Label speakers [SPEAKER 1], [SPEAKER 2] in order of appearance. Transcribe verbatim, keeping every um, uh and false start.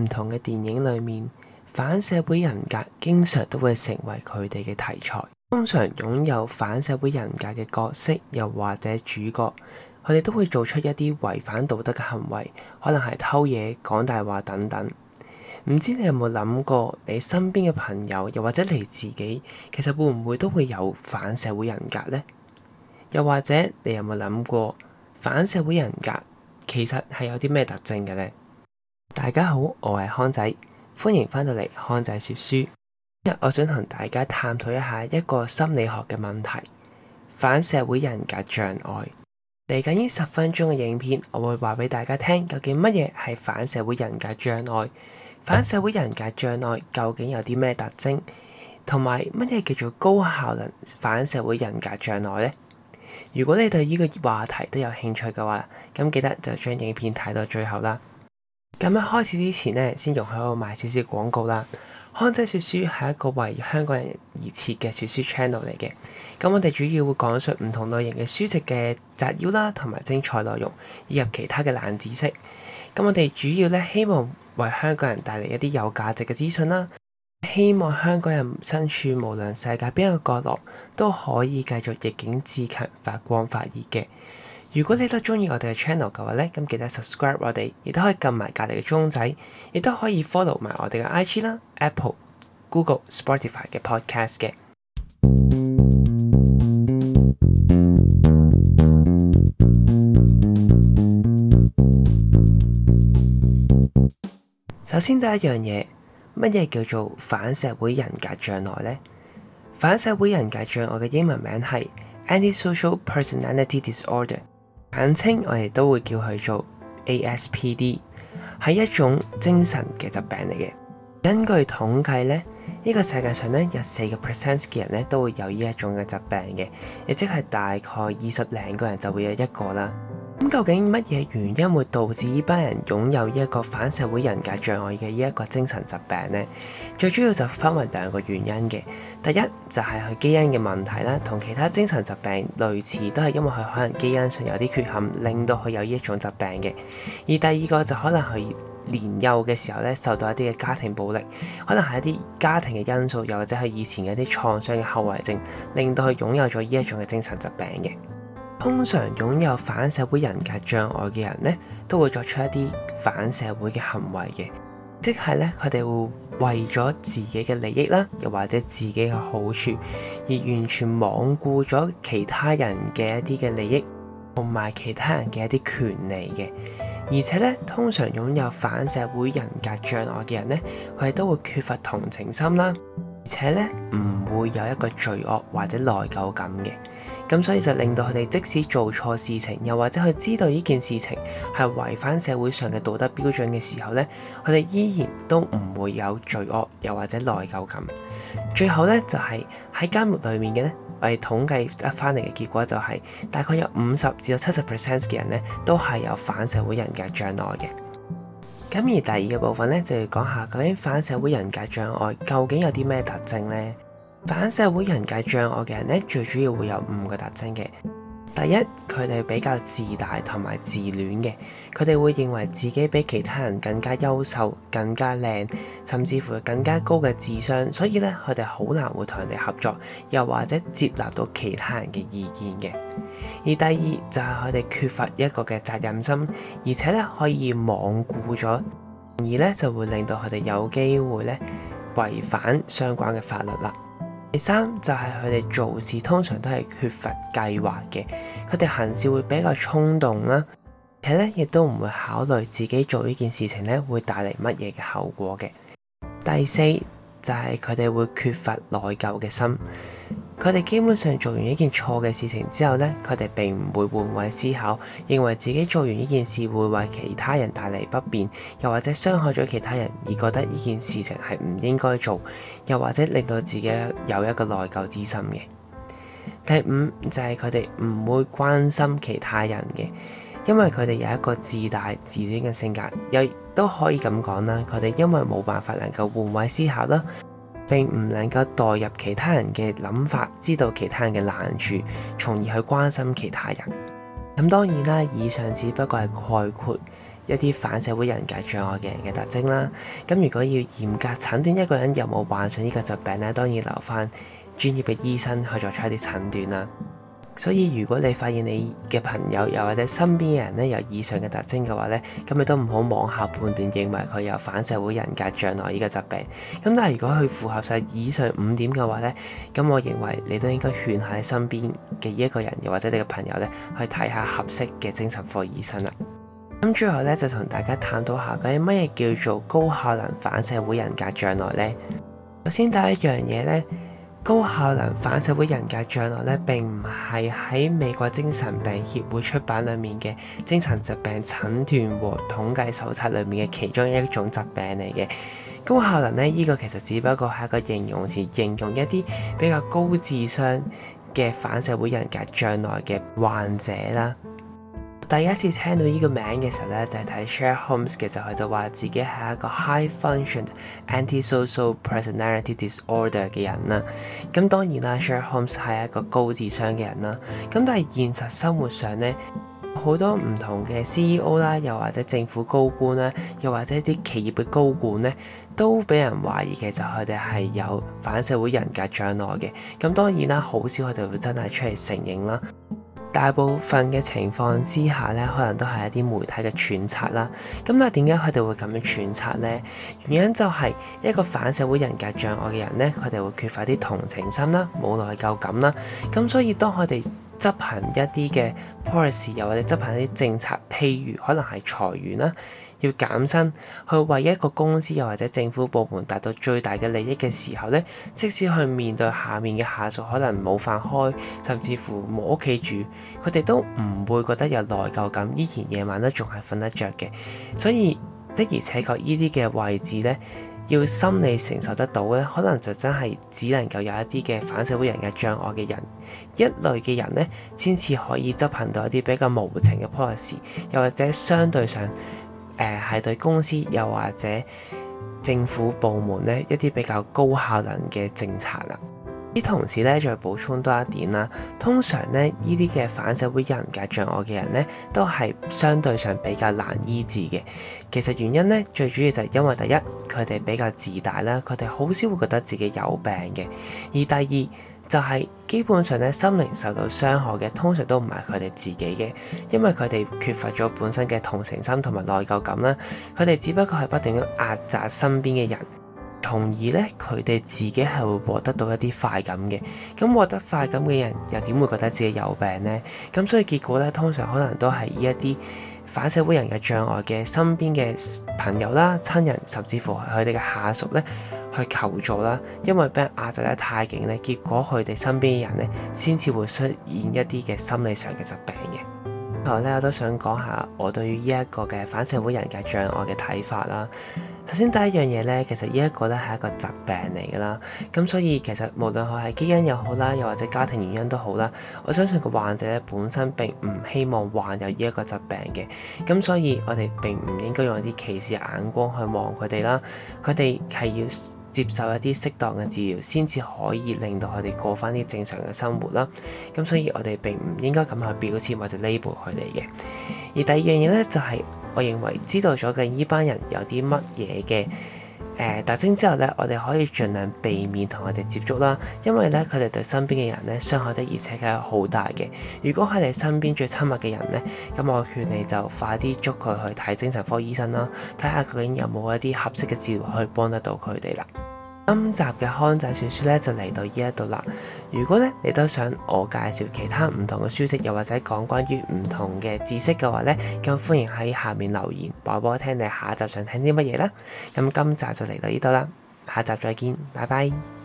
[SPEAKER 1] 同嘅電影裏面，反社會人格經常都會成為佢哋嘅題材。通常擁有反社會人格嘅角色，又或者主角，佢哋都會做出一啲違反道德嘅行為，可能係偷嘢、講大話等等。唔知你有冇諗過，你身邊嘅朋友，又或者你自己，其實會唔會都會有反社會人格呢？又或者你有冇諗過，反社會人格其實係有啲咩特徵嘅呢？大家好，我係康仔，歡迎翻到嚟康仔說書。今日我想同大家探討一下一個心理學嘅問題：反社會人格障礙。嚟緊呢十分鐘嘅影片，我會話俾大家聽，究竟乜嘢係反社會人格障礙？反社會人格障礙究竟有啲咩特徵？同埋乜嘢叫做高效能反社會人格障礙呢？如果你對呢個話題都有興趣嘅話，咁記得就將影片睇到最後啦。咁喺開始之前呢，先容許我賣少少廣告啦。康仔說書係一個為香港人而設嘅說書 channel 嚟嘅。咁我哋主要會講述唔同類型嘅書籍嘅摘要啦，同埋精彩內容，以及其他嘅冷知識。咁我哋主要咧希望為香港人帶嚟一啲有價值嘅資訊啦。希望香港人身處無論世界邊一個角落，都可以繼續逆境自強，發光發熱嘅。如果你都中意我哋嘅 channel 嘅話咧，咁記得 subscribe 我哋，亦都可以撳埋隔離嘅鐘仔，亦都可以 follow 埋我哋嘅 I G 啦、Apple、Google、Spotify 嘅 podcast 嘅。首先第一樣嘢，乜嘢叫做反社會人格障礙呢？反社會人格障礙嘅英文名係 Antisocial Personality Disorder。簡稱我哋都會叫佢做 A S P D， 係一種精神嘅疾病嚟嘅。根據統計咧，呢、呢個世界上咧有四個 percent 嘅人咧都會有呢一種嘅疾病嘅，亦即係大概二十零個人就會有一個啦。咁究竟乜嘢原因會導致呢班人擁有呢一個反社會人格障礙嘅呢一個精神疾病呢？最主要就分為兩個原因嘅。第一就係佢基因嘅問題啦，同其他精神疾病類似，都係因為佢可能基因上有啲缺陷，令到佢有呢一種疾病嘅。而第二個就可能佢年幼嘅時候咧，受到一啲嘅家庭暴力，可能係一啲家庭嘅因素，又或者係以前嘅一啲創傷嘅後遺症，令到佢擁有咗呢一種嘅精神疾病嘅。通常擁有反社會人格障礙嘅人咧，都會作出一啲反社會嘅行為嘅，即係咧佢哋會為咗自己嘅利益啦，又或者自己嘅好處，而完全罔顧咗其他人嘅一啲嘅利益，同埋其他人嘅一啲權利嘅。而且咧，通常擁有反社會人格障礙嘅人咧，佢哋都會缺乏同情心啦，而且咧唔會有一個罪惡或者內疚感嘅。咁所以就令到佢哋即使做錯事情，又或者佢知道呢件事情係違反社會上嘅道德標準嘅時候咧，佢哋依然都唔會有罪惡，又或者內疚感。最後咧就係喺監獄裏面嘅咧，我哋統計得翻嚟嘅結果就係、是、大概有五十至到七十 percent 嘅人咧都係有反社會人格障礙嘅。咁而第二個部分咧就要講下究竟反社會人格障礙究竟有啲咩特徵咧？反社會人格障礙嘅人咧，最主要會有五個特徵嘅。第一，佢哋比較自大同埋自戀嘅，佢哋會認為自己比其他人更加優秀、更加靚，甚至乎更加高嘅智商，所以咧佢哋好難會同人哋合作，又或者接納到其他人嘅意見嘅。而第二就係佢哋缺乏一個嘅責任心，而且咧可以罔顧咗，而咧就會令到佢哋有機會咧違反相關嘅法律啦。第三就係佢哋做事通常都係缺乏計劃嘅，佢哋行事會比較衝動啦，而且咧亦都唔會考慮自己做呢件事情咧會帶嚟乜嘢嘅後果嘅。第四就係佢哋會缺乏內疚嘅心，佢哋基本上做完一件錯嘅事情之後咧，佢哋並唔會換位思考，認為自己做完呢件事會為其他人帶嚟不便，又或者傷害咗其他人，而覺得呢件事情係唔應該做，又或者令到自己有一個內疚之心嘅。第五就係佢哋唔會關心其他人嘅，因為佢哋有一個自大自戀嘅性格，又都可以咁講啦，佢哋因為冇辦法能夠換位思考啦，並唔能夠代入其他人嘅諗法，知道其他人嘅難處，從而去關心其他人。咁當然啦，以上只不過係概括一啲反社會人格障礙嘅人嘅特徵啦。咁如果要嚴格診斷一個人有冇患上呢個疾病咧，當然留翻專業嘅醫生去作出一啲診斷啦。所以如果你發現你嘅朋友又或者身邊嘅人咧有以上嘅特徵嘅話咧，咁你都唔好妄下判斷，認為佢有反社會人格障礙呢個疾病。咁但係如果佢符合晒以上五點嘅話咧，咁我認為你都應該勸下你身邊嘅呢一個人，又或者你嘅朋友咧去睇下合適嘅精神科醫生啦。咁最後咧就同大家探討下究竟乜嘢叫做高效能反社會人格障礙咧。首先第一樣嘢咧，高效能反社會人格障礙咧並唔係喺美國精神病協會出版裡面嘅精神疾病診斷和統計手冊裡面嘅其中一種疾病嚟嘅。高效能咧呢、這個其實只不過係一個形容詞，形容一啲比較高智商嘅反社會人格障礙嘅患者啦。第一次聽到呢個名嘅時候咧，就係睇 Sherlock Holmes 嘅時候，佢就話自己係一個 High Function Antisocial Personality Disorder 嘅人啦。咁當然啦 ，Sherlock Holmes 係一個高智商嘅人啦。咁但係現實生活上咧，好多唔同嘅 C E O 啦，又或者政府高官啦，又或者啲企業嘅高管咧，都俾人懷疑其實佢哋係有反社會人格障礙嘅。咁當然啦，好少佢哋會真係出嚟承認啦。大部分嘅情況之下咧，可能都係一啲媒體嘅揣測啦。咁但係點解佢哋會咁樣揣測呢？原因就係一個反社會人格障礙嘅人咧，佢哋會缺乏啲同情心啦，冇內疚感啦。咁所以當佢哋執行一啲嘅 policy， 又或者執行一啲政策，譬如可能係裁員啦，要減薪，去為一個公司又或者政府部門達到最大嘅利益嘅時候咧，即使去面對下面嘅下屬可能冇飯開，甚至乎冇屋企住，佢哋都唔會覺得有內疚感，依然夜晚都仲係瞓得着嘅。所以的而且確呢啲嘅位置咧，要心理承受得到咧，可能就真係只能夠有一啲嘅反社會人格障礙嘅人，一類嘅人咧，先至可以執行到一啲比較無情嘅 policy， 又或者相對上誒係、呃、對公司又或者政府部門咧一啲比較高效能嘅政策啦。啲同時咧，再補充多一點啦。通常咧，呢啲嘅反社會人格障礙嘅人咧，都係相對上比較難醫治嘅。其實原因咧，最主要就係因為第一，佢哋比較自大啦，佢哋好少會覺得自己有病嘅；而第二就係、是、基本上咧，心靈受到傷害嘅，通常都唔係佢哋自己嘅，因為佢哋缺乏咗本身嘅同情心同埋內疚感啦。佢哋只不過係不斷咁壓榨身邊嘅人。從而咧，佢哋自己係會獲得到一啲快感嘅。咁獲得快感嘅人又點會覺得自己有病呢？咁所以結果咧，通常可能都係依一啲反社會人嘅障礙嘅身邊嘅朋友啦、親人，甚至乎係佢哋嘅下屬咧，去求助啦。因為俾人壓制得太勁咧，結果佢哋身邊嘅人咧，先至會出現一啲嘅心理上嘅疾病嘅。最後咧，我都想講下我對於呢一個嘅反社會人格障礙嘅睇法啦。首先第一樣嘢咧，其實呢一個咧係一個疾病嚟㗎啦，咁所以其實無論佢係基因又好啦，又或者家庭原因都好啦，我相信個患者咧本身並唔希望患有呢一個疾病嘅，咁所以我哋並唔應該用一啲歧視眼光去望佢哋啦，佢哋係要接受一啲適當嘅治療，先至可以令到佢哋過返啲正常嘅生活啦。咁所以我哋並唔應該咁去標籤或者 label 佢哋嘅。而第二樣嘢咧就係、是，我認為知道咗嘅呢班人有啲乜嘢嘅誒特徵之後咧，我哋可以盡量避免同佢哋接觸啦，因為咧佢哋對身邊嘅人咧傷害得而且確係好大嘅。如果係你身邊最親密嘅人咧，咁我勸你就快啲捉佢去睇精神科醫生啦，睇下究竟有冇一啲合適嘅治療可以幫得到佢哋啦。今集嘅康仔說書咧就嚟到呢一度啦。如果咧你都想我介紹其他唔同嘅書籍，又或者講關於唔同嘅知識嘅話咧，咁歡迎喺下面留言話俾我聽你下一集想聽啲乜嘢啦。咁今集就嚟到呢度啦，下集再見，拜拜。